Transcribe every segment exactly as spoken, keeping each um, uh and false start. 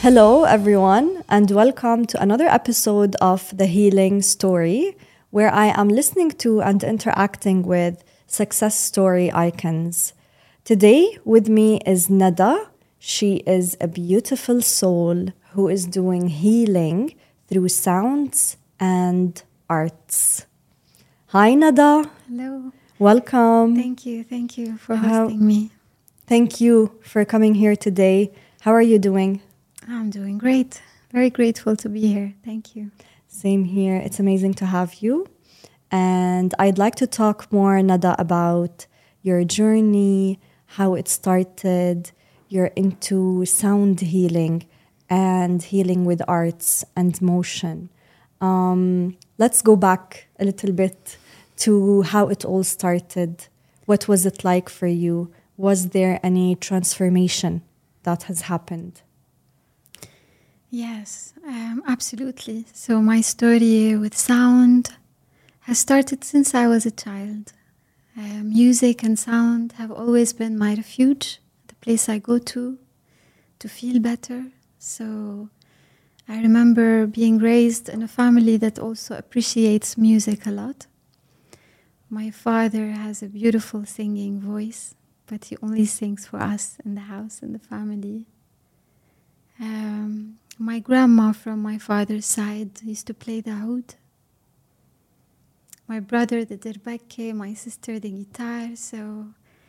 Hello, everyone, and welcome to another episode of The Healing Story, where I am listening to and interacting with success story icons. Today, with me is Nada. She is a beautiful soul who is doing healing through sounds and arts. Hi, Nada. Hello. Welcome. Thank you. Thank you for How- hosting me. Thank you for coming here today. How are you doing? I'm doing great. Very grateful to be here. Thank you. Same here. It's amazing to have you. And I'd like to talk more, Nada, about your journey, how it started. You're into sound healing and healing with arts and motion. Um, let's go back a little bit to how it all started. What was it like for you? Was there any transformation that has happened? Yes, um, absolutely. So my story with sound has started since I was a child. Uh, music and sound have always been my refuge, the place I go to to feel better. So I remember being raised in a family that also appreciates music a lot. My father has a beautiful singing voice, but he only sings for us in the house, in the family. Um, my grandma from my father's side used to play the oud. My brother the dirbake, my sister the guitar. So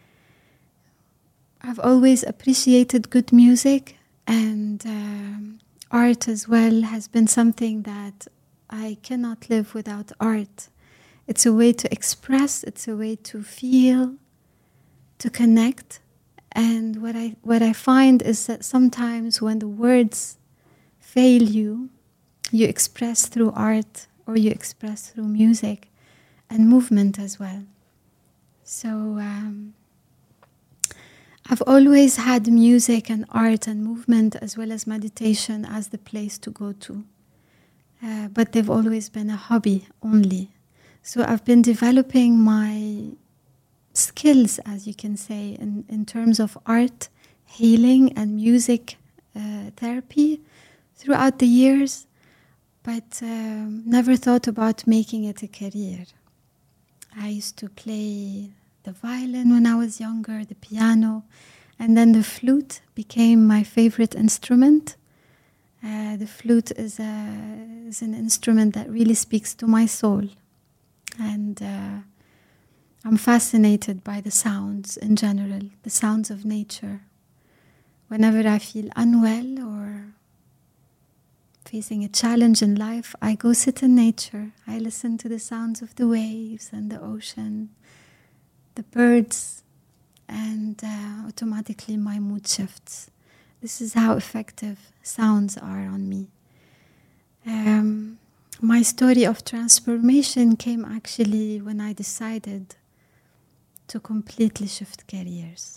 I've always appreciated good music, and um, art as well has been something that I cannot live without art. It's a way to express, it's a way to feel, to connect. And what I what I find is that sometimes when the words fail you, you express through art or you express through music and movement as well. So um, I've always had music and art and movement as well as meditation as the place to go to. Uh, but they've always been a hobby only. So I've been developing my skills, as you can say, in, in terms of art, healing, and music uh, therapy throughout the years, but um, never thought about making it a career. I used to play the violin when I was younger, the piano, and then the flute became my favorite instrument. Uh, the flute is, a, is an instrument that really speaks to my soul. And uh, I'm fascinated by the sounds in general, the sounds of nature. Whenever I feel unwell or facing a challenge in life, I go sit in nature. I listen to the sounds of the waves and the ocean, the birds, and uh, automatically my mood shifts. This is how effective sounds are on me. Um, my story of transformation came actually when I decided to completely shift careers.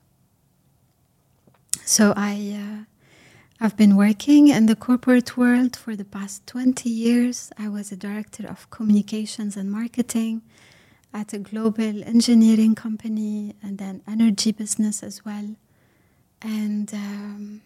So I, uh, I've been working in the corporate world for the past twenty years. I was a director of communications and marketing at a global engineering company and then energy business as well. And um,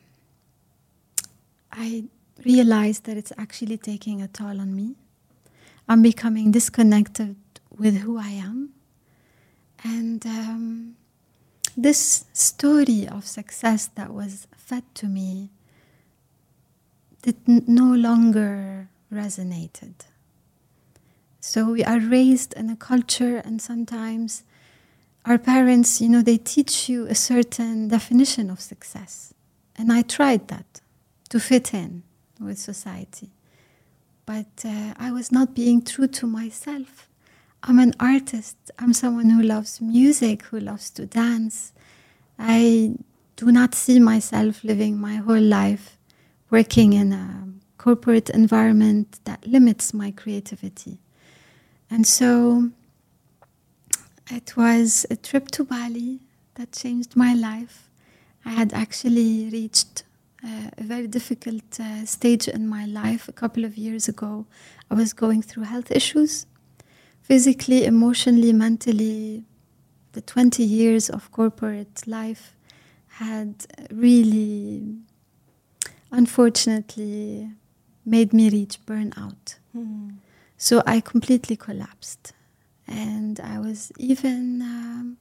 I realized that it's actually taking a toll on me. I'm becoming disconnected with who I am. And um, this story of success that was fed to me did n- no longer resonated. So we are raised in a culture, and sometimes our parents, you know, they teach you a certain definition of success. And I tried that to fit in with society. But uh, I was not being true to myself. I'm an artist. I'm someone who loves music, who loves to dance. I do not see myself living my whole life working in a corporate environment that limits my creativity. And so it was a trip to Bali that changed my life. I had actually reached uh, a very difficult uh, stage in my life a couple of years ago. I was going through health issues, physically, emotionally, mentally. The twenty years of corporate life had really unfortunately made me reach burnout. Mm. So I completely collapsed. And I was even um,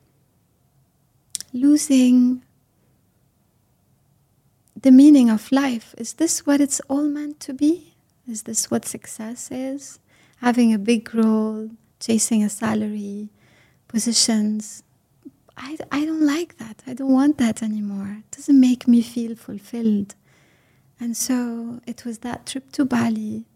losing the meaning of life. Is this what it's all meant to be? Is this what success is? Having a big role, chasing a salary, positions. I, I don't like that. I don't want that anymore. It doesn't make me feel fulfilled. And so it was that trip to Bali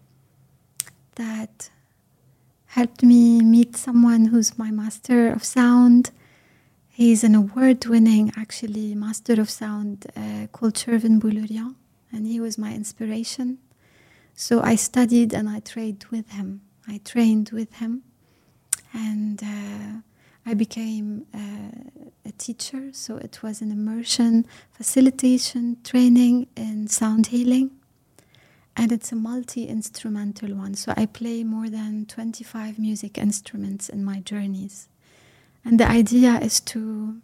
that helped me meet someone who's my master of sound. He's an award-winning, actually, master of sound uh, called Shervin Boulurian, and he was my inspiration. So I studied and I trained with him. I trained with him, and uh, I became uh, a teacher. So it was an immersion facilitation training in sound healing. And it's a multi-instrumental one. So I play more than twenty-five music instruments in my journeys. And the idea is to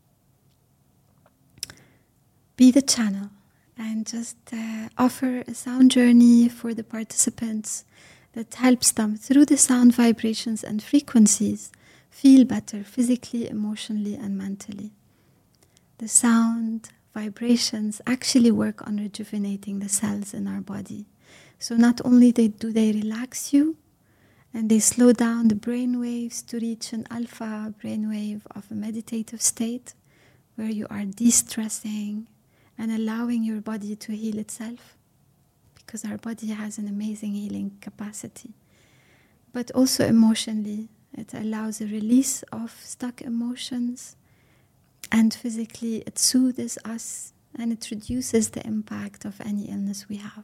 be the channel and just uh, offer a sound journey for the participants that helps them through the sound vibrations and frequencies feel better physically, emotionally, and mentally. The sound vibrations actually work on rejuvenating the cells in our body. So not only they, do they relax you, and they slow down the brain waves to reach an alpha brainwave of a meditative state where you are de-stressing and allowing your body to heal itself, because our body has an amazing healing capacity. But also emotionally, it allows a release of stuck emotions, and physically it soothes us and it reduces the impact of any illness we have.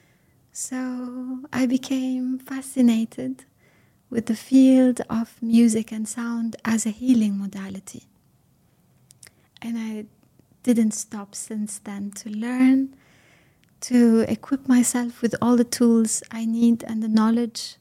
So I became fascinated with the field of music and sound as a healing modality. And I didn't stop since then to learn, to equip myself with all the tools I need and the knowledge.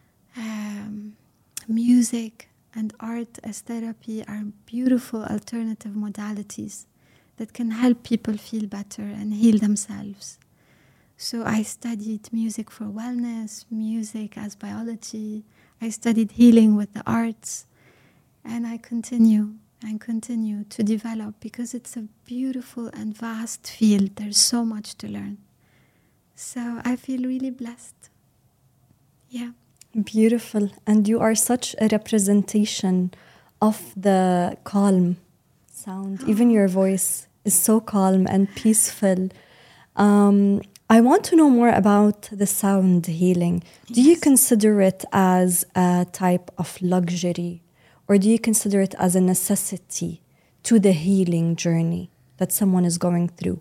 Um, music and art as therapy are beautiful alternative modalities that can help people feel better and heal themselves. So I studied music for wellness, music as biology. I studied healing with the arts, and I continue and continue to develop because it's a beautiful and vast field. There's so much to learn. So I feel really blessed. Yeah. Beautiful. And you are such a representation of the calm sound. Oh. Even your voice is so calm and peaceful. Um, I want to know more about the sound healing. Do yes. you consider it as a type of luxury, or do you consider it as a necessity to the healing journey that someone is going through?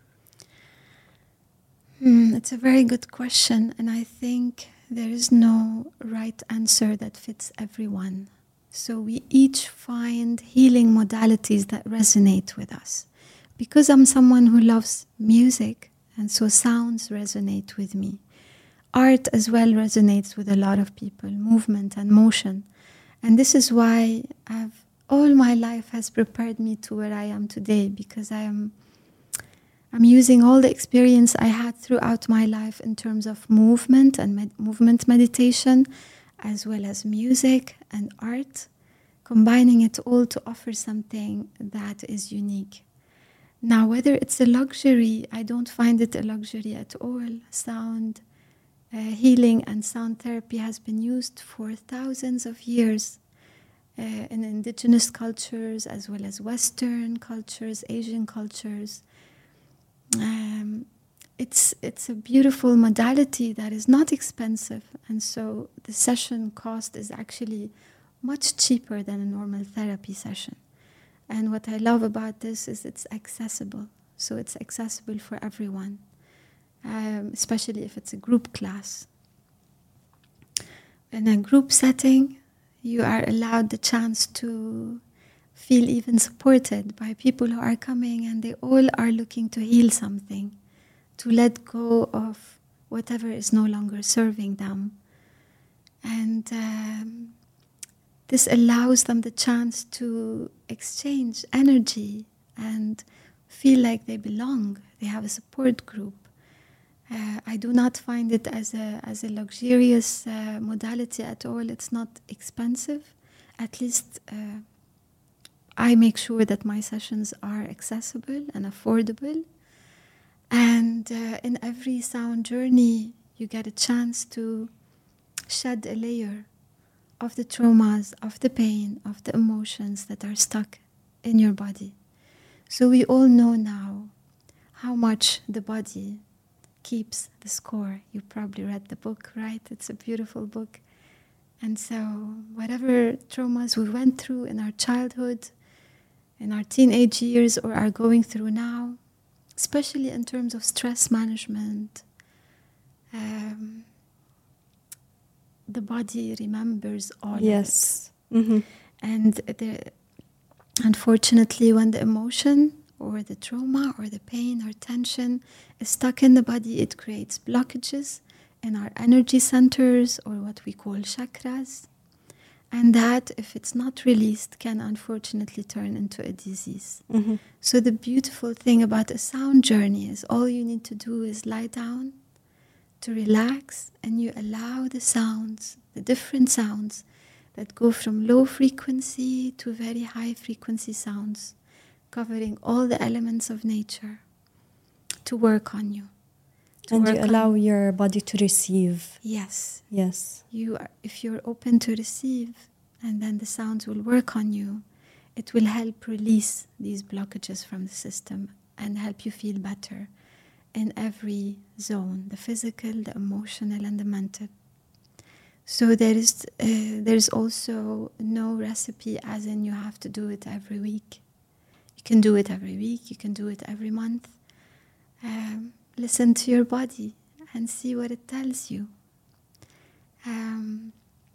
Mm, it's a very good question, and I think there is no right answer that fits everyone. So we each find healing modalities that resonate with us. Because I'm someone who loves music, and so sounds resonate with me. Art as well resonates with a lot of people, movement and motion. And this is why I've, all my life has prepared me to where I am today, because I am I'm using all the experience I had throughout my life in terms of movement and med- movement meditation, as well as music and art, combining it all to offer something that is unique. Now, whether it's a luxury, I don't find it a luxury at all. Sound uh, healing and sound therapy has been used for thousands of years uh, in indigenous cultures, as well as Western cultures, Asian cultures. Um, it's it's a beautiful modality that is not expensive, and so the session cost is actually much cheaper than a normal therapy session. And what I love about this is it's accessible, so it's accessible for everyone, um, especially if it's a group class. In a group setting, you are allowed the chance to feel even supported by people who are coming, and they all are looking to heal something, to let go of whatever is no longer serving them. And um, this allows them the chance to exchange energy and feel like they belong. They have a support group. Uh, I do not find it as a as a luxurious uh, modality at all. It's not expensive. At least uh, I make sure that my sessions are accessible and affordable. And uh, in every sound journey, you get a chance to shed a layer of the traumas, of the pain, of the emotions that are stuck in your body. So we all know now how much the body keeps the score. You probably read the book, right? It's a beautiful book. And so whatever traumas we went through in our childhood, in our teenage years, or are going through now, especially in terms of stress management, um, the body remembers all yes. of it. Mm-hmm. And the, unfortunately, when the emotion or the trauma or the pain or tension is stuck in the body, it creates blockages in our energy centers, or what we call chakras. And that, if it's not released, can unfortunately turn into a disease. Mm-hmm. So the beautiful thing about a sound journey is all you need to do is lie down, to relax, and you allow the sounds, the different sounds that go from low frequency to very high frequency sounds, covering all the elements of nature, to work on you. And you allow your body to receive. Yes. Yes. You are, if you're open to receive, and then the sounds will work on you, it will help release these blockages from the system and help you feel better in every zone, the physical, the emotional, and the mental. So there is uh, there's also no recipe as in you have to do it every week. You can do it every week, you can do it every month. Um, listen to your body and see what it tells you. Um,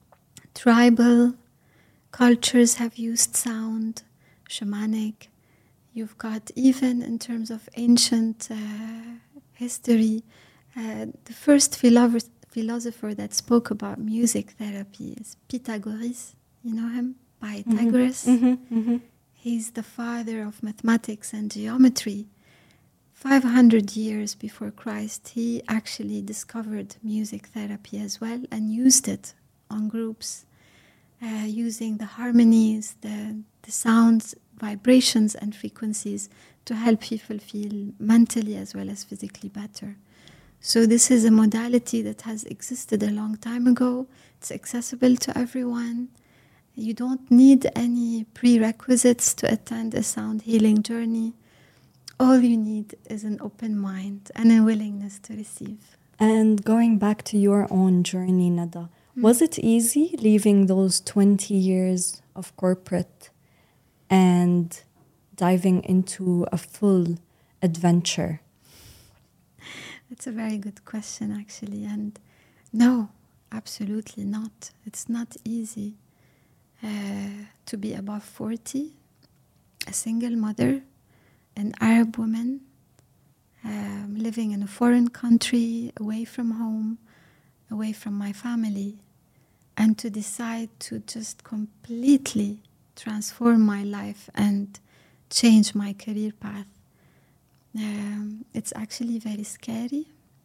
tribal cultures have used sound, shamanic. You've got, even in terms of ancient uh, history, uh, the first philosopher, philosopher that spoke about music therapy is Pythagoras. You know him? Pythagoras. Mm-hmm. Mm-hmm. He's the father of mathematics and geometry. five hundred years before Christ, he actually discovered music therapy as well and used it on groups, uh, using the harmonies, the, the sounds, vibrations and frequencies to help people feel mentally as well as physically better. So this is a modality that has existed a long time ago. It's accessible to everyone. You don't need any prerequisites to attend a sound healing journey. All you need is an open mind and a willingness to receive. And going back to your own journey, Nada, mm. was it easy leaving those twenty years of corporate and diving into a full adventure? That's a very good question, actually. And no, absolutely not. It's not easy uh, to be above forty, a single mother, an Arab woman, um, living in a foreign country, away from home, away from my family, and to decide to just completely transform my life and change my career path. Um, it's actually very scary,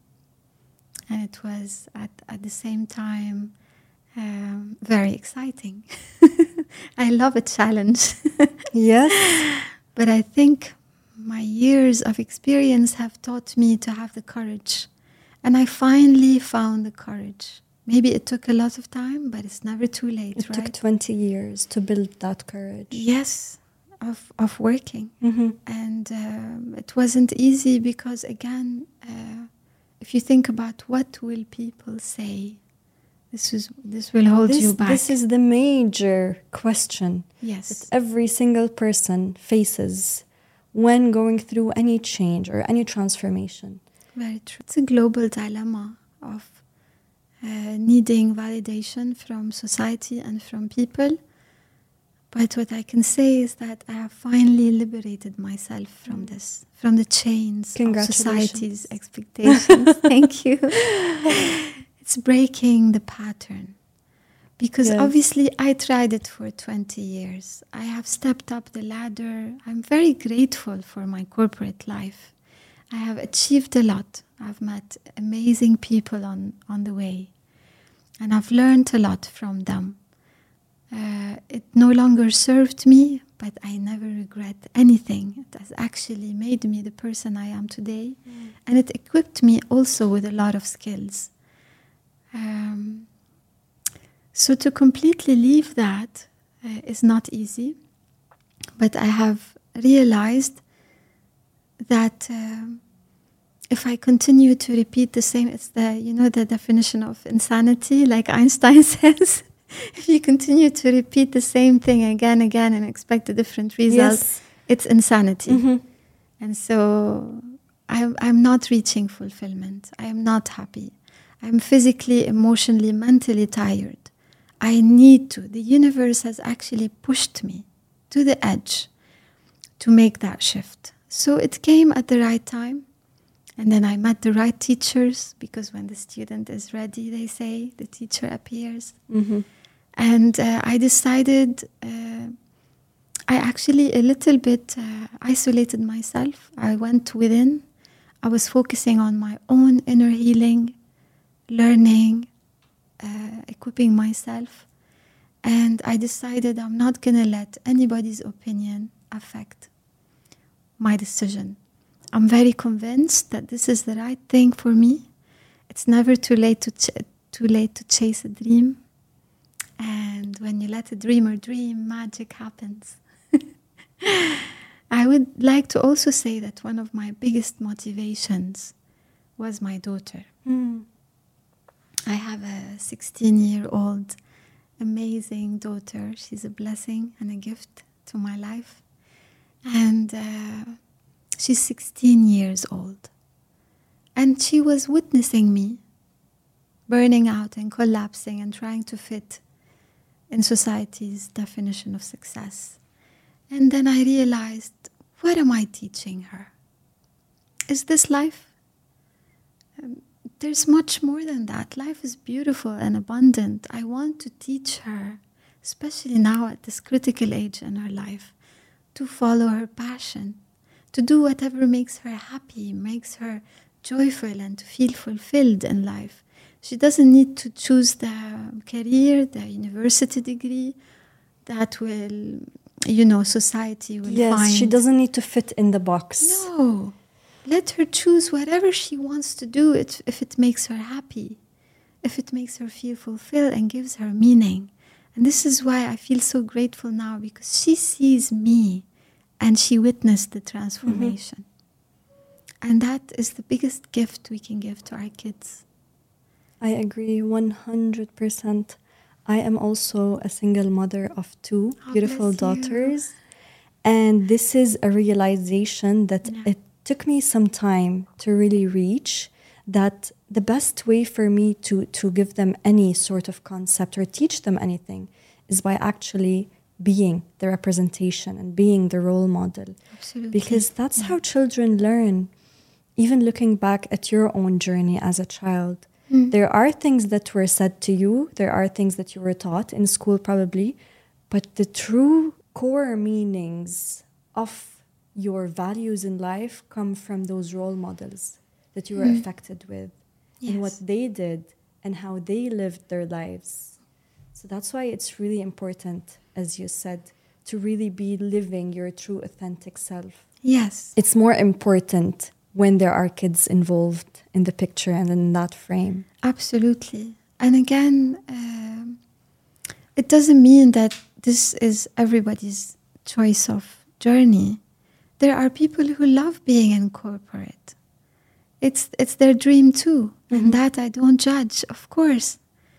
and it was at, at the same time um, very exciting. I love a challenge. Yes. But I think my years of experience have taught me to have the courage. And I finally found the courage. Maybe it took a lot of time, but it's never too late, it right? It took twenty years to build that courage. Yes, of, of working. Mm-hmm. And um, it wasn't easy because, again, uh, if you think about what will people say, this is this will hold this, you back. This is the major question yes. that every single person faces when going through any change or any transformation. Very true. It's a global dilemma of uh, needing validation from society and from people. But what I can say is that I have finally liberated myself from this, from the chains of society's expectations. Thank you. It's breaking the pattern. Because Yes. obviously I tried it for twenty years. I have stepped up the ladder. I'm very grateful for my corporate life. I have achieved a lot. I've met amazing people on, on the way. And I've learned a lot from them. Uh, it no longer served me, but I never regret anything. It has actually made me the person I am today. Mm. And it equipped me also with a lot of skills. Um, so to completely leave that uh, is not easy. But I have realized that uh, if I continue to repeat the same, it's the, you know, the definition of insanity, like Einstein says. If you continue to repeat the same thing again and again and expect a different result, yes. It's insanity. Mm-hmm. And so I'm, I'm not reaching fulfillment. I am not happy. I'm physically, emotionally, mentally tired. I need to. The universe has actually pushed me to the edge to make that shift. So it came at the right time. And then I met the right teachers, because when the student is ready, they say, the teacher appears. Mm-hmm. And uh, I decided, uh, I actually a little bit uh, isolated myself. I went within. I was focusing on my own inner healing, learning, uh, equipping myself. And I decided I'm not going to let anybody's opinion affect my decision. I'm very convinced that this is the right thing for me. It's never too late to ch- too late to chase a dream. And when you let a dreamer dream, magic happens. I would like to also say that one of my biggest motivations was my daughter. Mm. I have a sixteen-year-old amazing daughter. She's a blessing and a gift to my life. And uh, she's sixteen years old. And she was witnessing me burning out and collapsing and trying to fit in society's definition of success. And then I realized, what am I teaching her? Is this life? Um, there's much more than that. Life is beautiful and abundant. I want to teach her, especially now at this critical age in her life, to follow her passion, to do whatever makes her happy, makes her joyful, and to feel fulfilled in life. She doesn't need to choose the career, the university degree that will, you know, society will yes, find. Yes, she doesn't need to fit in the box. No. Let her choose whatever she wants to do it, if it makes her happy, if it makes her feel fulfilled and gives her meaning. And this is why I feel so grateful now, because she sees me and she witnessed the transformation. Mm-hmm. And that is the biggest gift we can give to our kids. I agree one hundred percent. I am also a single mother of two oh, beautiful daughters. And this is a realization that yeah. it took me some time to really reach, that the best way for me to, to give them any sort of concept or teach them anything is by actually being the representation and being the role model. Absolutely. Because that's yeah. how children learn. Even looking back at your own journey as a child, mm. there are things that were said to you, there are things that you were taught in school probably, but the true core meanings of your values in life come from those role models that you were mm. affected with, yes. and what they did and how they lived their lives. So that's why it's really important, as you said, to really be living your true authentic self. Yes. It's more important when there are kids involved in the picture and in that frame. Absolutely. And again, um, it doesn't mean that this is everybody's choice of journey. There are people who love being in corporate. It's it's their dream too. Mm-hmm. And that I don't judge, of course.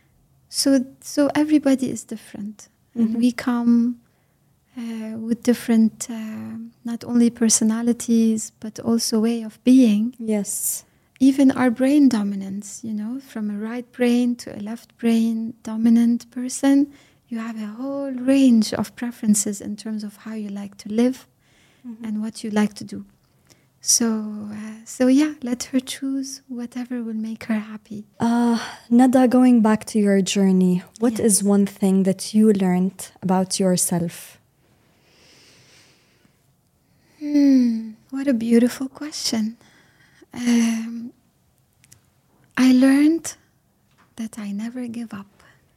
So so everybody is different. Mm-hmm. And we come uh, with different, uh, not only personalities, but also way of being. Yes. Even our brain dominance, you know, from a right brain to a left brain dominant person, you have a whole range of preferences in terms of how you like to live. Mm-hmm. And what you like to do. So, uh, so yeah, let her choose whatever will make her happy. Uh, Nada, going back to your journey, what Yes. is one thing that you learned about yourself? Hmm, what a beautiful question. Um, I learned that I never give up.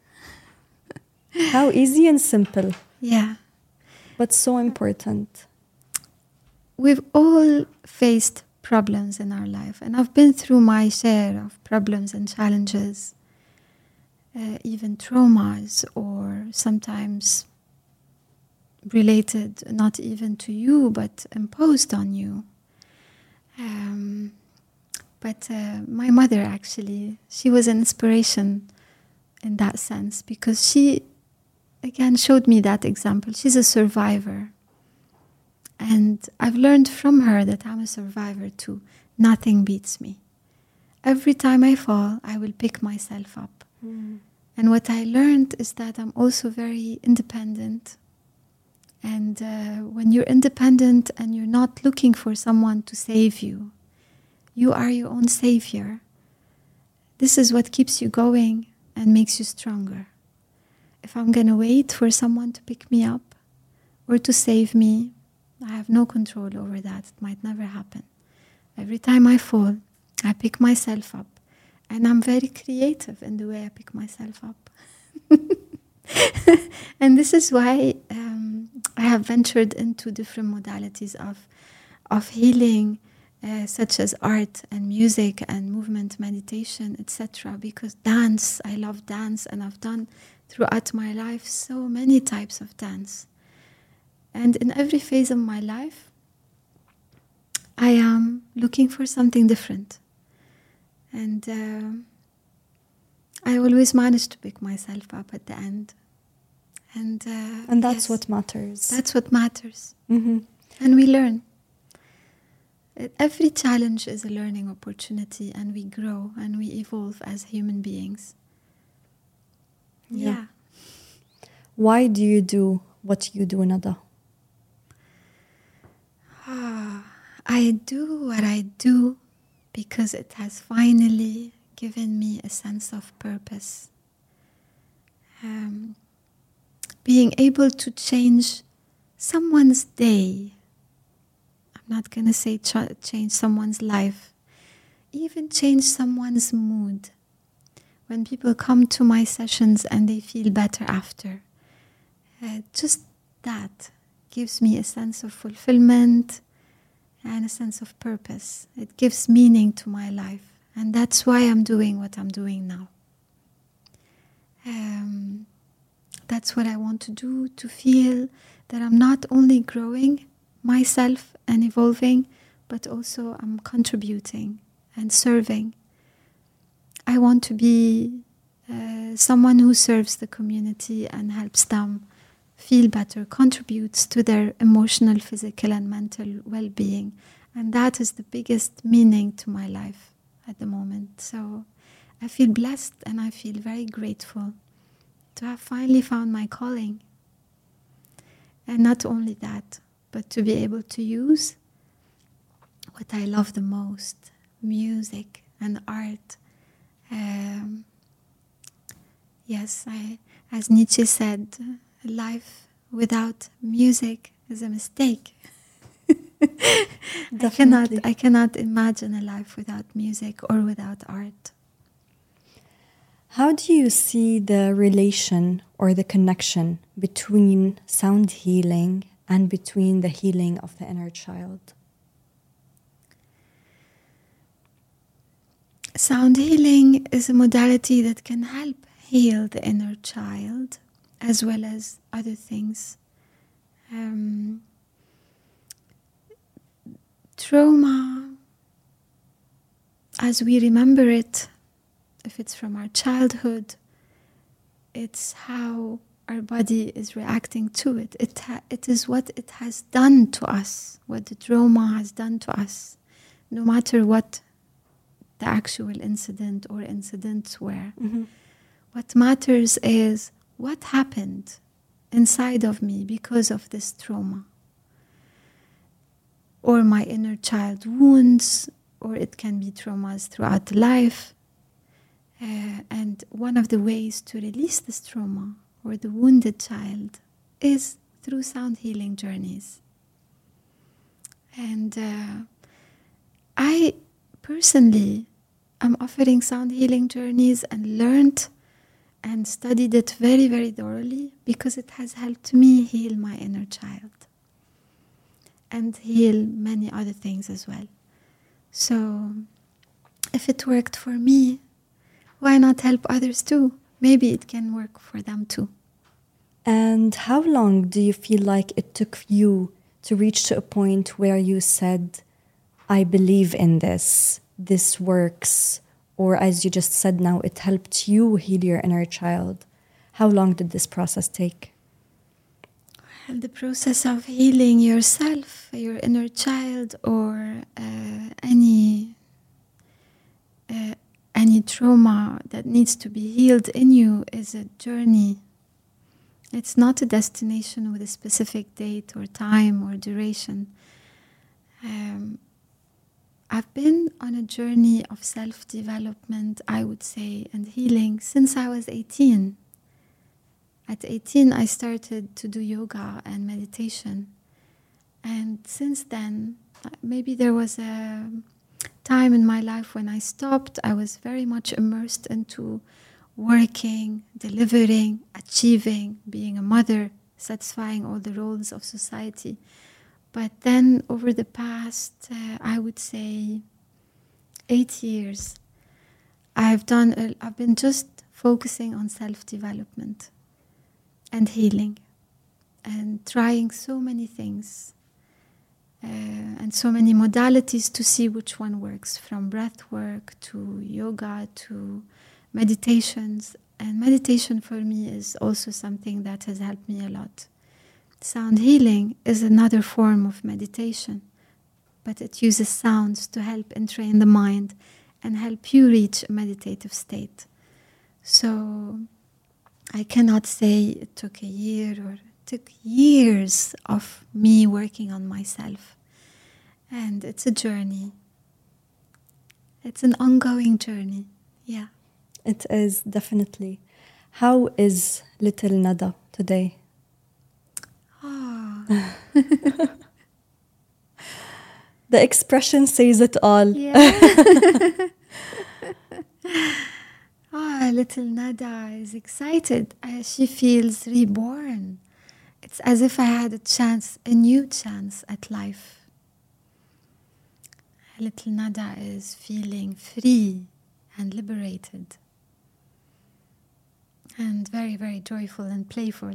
How easy and simple, Yeah. but so important. We've all faced problems in our life, and I've been through my share of problems and challenges, uh, even traumas, or sometimes related not even to you, but imposed on you. Um, but uh, my mother, actually, she was an inspiration in that sense, because she, again, showed me that example. She's a survivor. And I've learned from her that I'm a survivor too. Nothing beats me. Every time I fall, I will pick myself up. Mm. And what I learned is that I'm also very independent. And uh, when you're independent and you're not looking for someone to save you, you are your own savior. This is what keeps you going and makes you stronger. If I'm going to wait for someone to pick me up or to save me, I have no control over that. It might never happen. Every time I fall, I pick myself up. And I'm very creative in the way I pick myself up. And this is why um, I have ventured into different modalities of, of healing, uh, such as art and music and movement, meditation, et cetera. Because dance, I love dance, and I've done throughout my life so many types of dance. And in every phase of my life, I am looking for something different. And uh, I always manage to pick myself up at the end. And, uh, And that's yes, what matters. That's what matters. Mm-hmm. And we learn. Every challenge is a learning opportunity, and we grow and we evolve as human beings. Yeah. Yeah. Why do you do what you do, Nada? Ah, I do what I do because it has finally given me a sense of purpose. Um, being able to change someone's day. I'm not going to say ch- change someone's life. Even change someone's mood. When people come to my sessions and they feel better after. Uh, just that gives me a sense of fulfillment and a sense of purpose. It gives meaning to my life. And that's why I'm doing what I'm doing now. Um, that's what I want to do, to feel that I'm not only growing myself and evolving, but also I'm contributing and serving. I want to be uh, someone who serves the community and helps them feel better, contributes to their emotional, physical, and mental well-being. And that is the biggest meaning to my life at the moment. So I feel blessed and I feel very grateful to have finally found my calling. And not only that, but to be able to use what I love the most, music and art. Um, yes, I, as Nietzsche said, life without music is a mistake. I cannot, I cannot imagine a life without music or without art. How do you see the relation or the connection between sound healing and between the healing of the inner child? Sound healing is a modality that can help heal the inner child as well as other things. Um, trauma, as we remember it, if it's from our childhood, it's how our body is reacting to it. It, ha- it is what it has done to us, what the trauma has done to us, no matter what the actual incident or incidents were. Mm-hmm. What matters is what happened inside of me because of this trauma. or my inner child wounds, or it can be traumas throughout life. Uh, and one of the ways to release this trauma or the wounded child is through sound healing journeys. And uh, I personally am offering sound healing journeys and learned and studied it very, very thoroughly because it has helped me heal my inner child and heal many other things as well. So if it worked for me, why not help others too? Maybe it can work for them too. And how long do you feel like it took you to reach to a point where you said, I believe in this, this works, or as you just said now, it helped you heal your inner child? How long did this process take? Well, the process of healing yourself, your inner child, or uh, any uh, any trauma that needs to be healed in you is a journey. It's not a destination with a specific date or time or duration. Um, I've been on a journey of self-development, I would say, and healing since I was eighteen. At eighteen, I started to do yoga and meditation. And since then, maybe there was a time in my life when I stopped. I was very much immersed into working, delivering, achieving, being a mother, satisfying all the roles of society. But then over the past, uh, I would say, eight years, I've done. A, I've been just focusing on self-development and healing, and trying so many things uh, and so many modalities to see which one works, from breath work to yoga to meditations. And meditation for me is also something that has helped me a lot. Sound healing is another form of meditation, but it uses sounds to help entrain the mind and help you reach a meditative state. So I cannot say it took a year, or it took years of me working on myself. And it's a journey. It's an ongoing journey. Yeah. It is, definitely. How is little Nada today? Oh. The expression says it all. Yeah. Ah, little Nada is excited. Uh, she feels reborn. It's as if I had a chance, a new chance at life. Little Nada is feeling free and liberated. And very, very joyful and playful.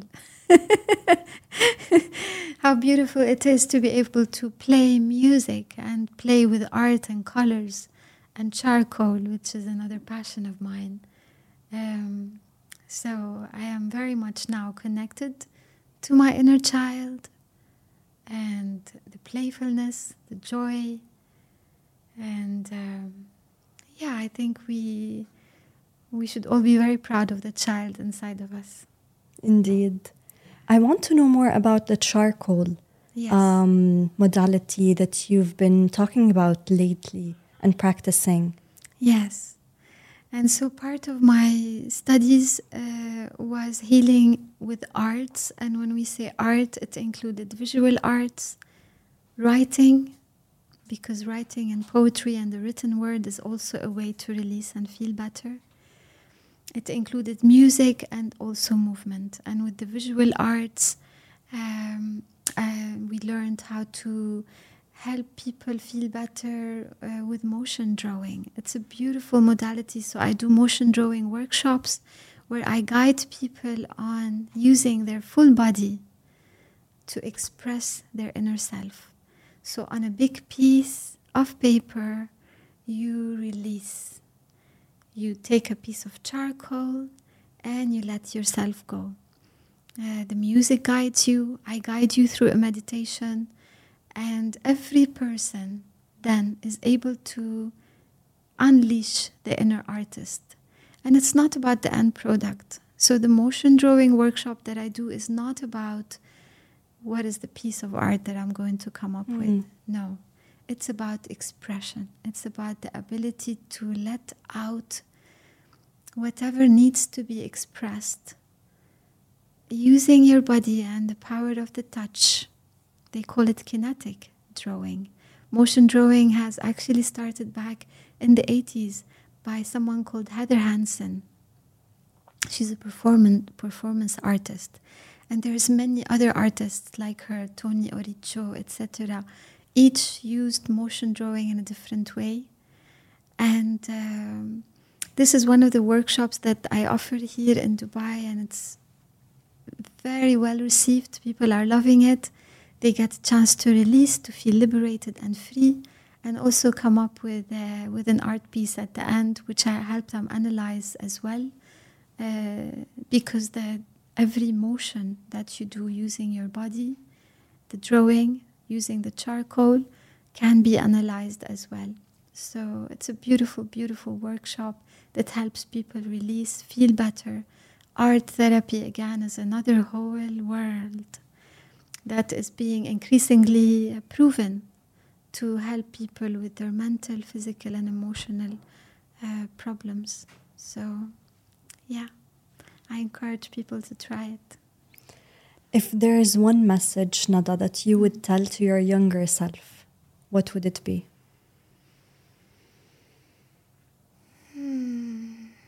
How beautiful it is to be able to play music and play with art and colors and charcoal, which is another passion of mine. Um, so I am very much now connected to my inner child and the playfulness, the joy. And um, yeah, I think we we should all be very proud of the child inside of us. Indeed. I want to know more about the charcoal Yes. um, modality that you've been talking about lately and practicing. Yes. And so part of my studies uh, was healing with arts. And when we say art, it included visual arts, writing, because writing and poetry and the written word is also a way to release and feel better. It included music and also movement. And with the visual arts, um, uh, we learned how to help people feel better uh, with motion drawing. It's a beautiful modality. So I do motion drawing workshops where I guide people on using their full body to express their inner self. So on a big piece of paper, you release. You take a piece of charcoal and you let yourself go. Uh, the music guides you. I guide you through a meditation. And every person then is able to unleash the inner artist. And it's not about the end product. So the motion drawing workshop that I do is not about what is the piece of art that I'm going to come up Mm. with. No, it's about expression. It's about the ability to let out whatever needs to be expressed using your body and the power of the touch. They call it kinetic drawing. Motion drawing has actually started back in the eighties by someone called Heather Hansen. She's a performance performance artist, and there's many other artists like her, Tony Oricho, et cetera. Each used motion drawing in a different way, and um, this is one of the workshops that I offer here in Dubai, and it's very well received. People are loving it. They get a chance to release, to feel liberated and free, and also come up with uh, with an art piece at the end, which I help them analyze as well, uh, because the every motion that you do using your body, the drawing, using the charcoal, can be analyzed as well. So it's a beautiful, beautiful workshop that helps people release, feel better. Art therapy, again, is another whole world that is being increasingly proven to help people with their mental, physical, and emotional uh, problems. So, yeah, I encourage people to try it. If there is one message, Nada, that you would tell to your younger self, what would it be? Hmm.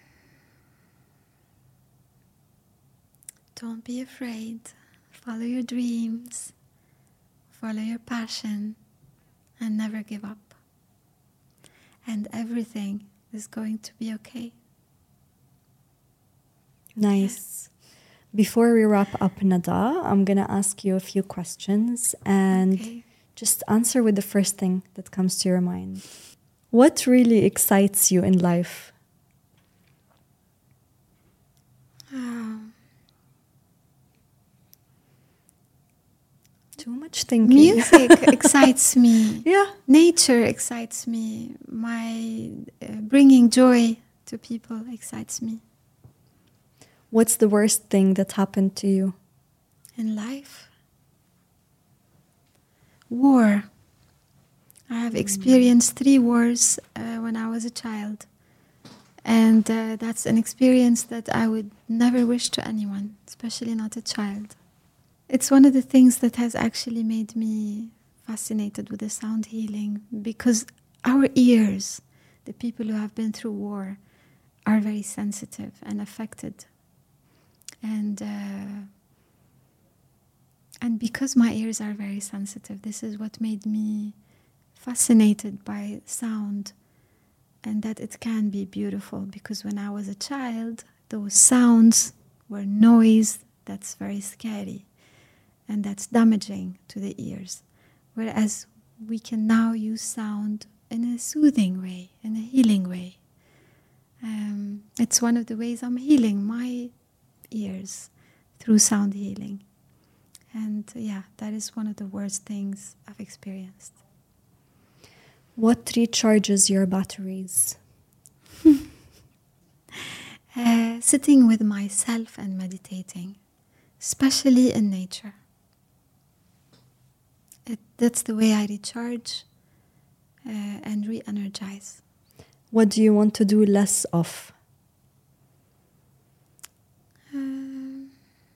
Don't be afraid. Follow your dreams. Follow your passion. And never give up. And everything is going to be okay. Nice. Before we wrap up, Nada, I'm going to ask you a few questions and Okay. just answer with the first thing that comes to your mind. What really excites you in life? Oh. Too much thinking. Music excites me. Yeah. Nature excites me. My uh, bringing joy to people excites me. What's the worst thing that happened to you? In life, war. I have experienced three wars uh, when I was a child. And uh, that's an experience that I would never wish to anyone, especially not a child. It's one of the things that has actually made me fascinated with the sound healing, because our ears, the people who have been through war, are very sensitive and affected. And uh, and because my ears are very sensitive, this is what made me fascinated by sound, and that it can be beautiful. Because when I was a child, those sounds were noise that's very scary and that's damaging to the ears. Whereas we can now use sound in a soothing way, in a healing way. Um, it's one of the ways I'm healing my ears through sound healing. And uh, yeah, that is one of the worst things I've experienced. What recharges your batteries? uh, sitting with myself and meditating, especially in nature. It, that's the way I recharge uh, and re-energize. What do you want to do less of? Um,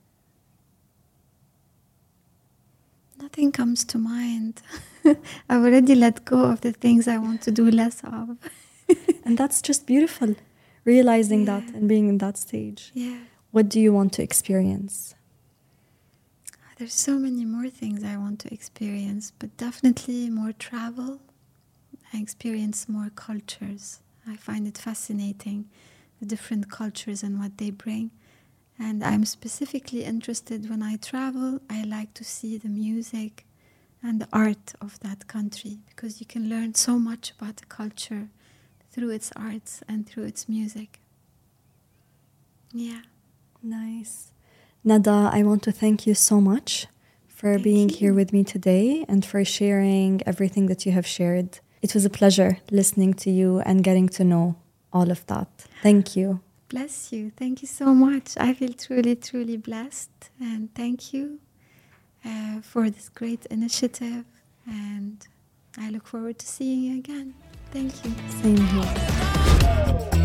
nothing comes to mind. I've already let go of the things I want to do less of. And that's just beautiful, realizing Yeah. that and being in that stage. Yeah. What do you want to experience? There's so many more things I want to experience, but definitely more travel. I experience more cultures. I find it fascinating, the different cultures and what they bring. And I'm specifically interested when I travel, I like to see the music and the art of that country, because you can learn so much about the culture through its arts and through its music. Yeah. Nice. Nada, I want to thank you so much for Thank being you. here with me today and for sharing everything that you have shared. It was a pleasure listening to you and getting to know all of that. Thank you. Bless you. Thank you so much. I feel truly, truly blessed. And thank you. uh, for this great initiative, and I look forward to seeing you again. Thank you. Same here.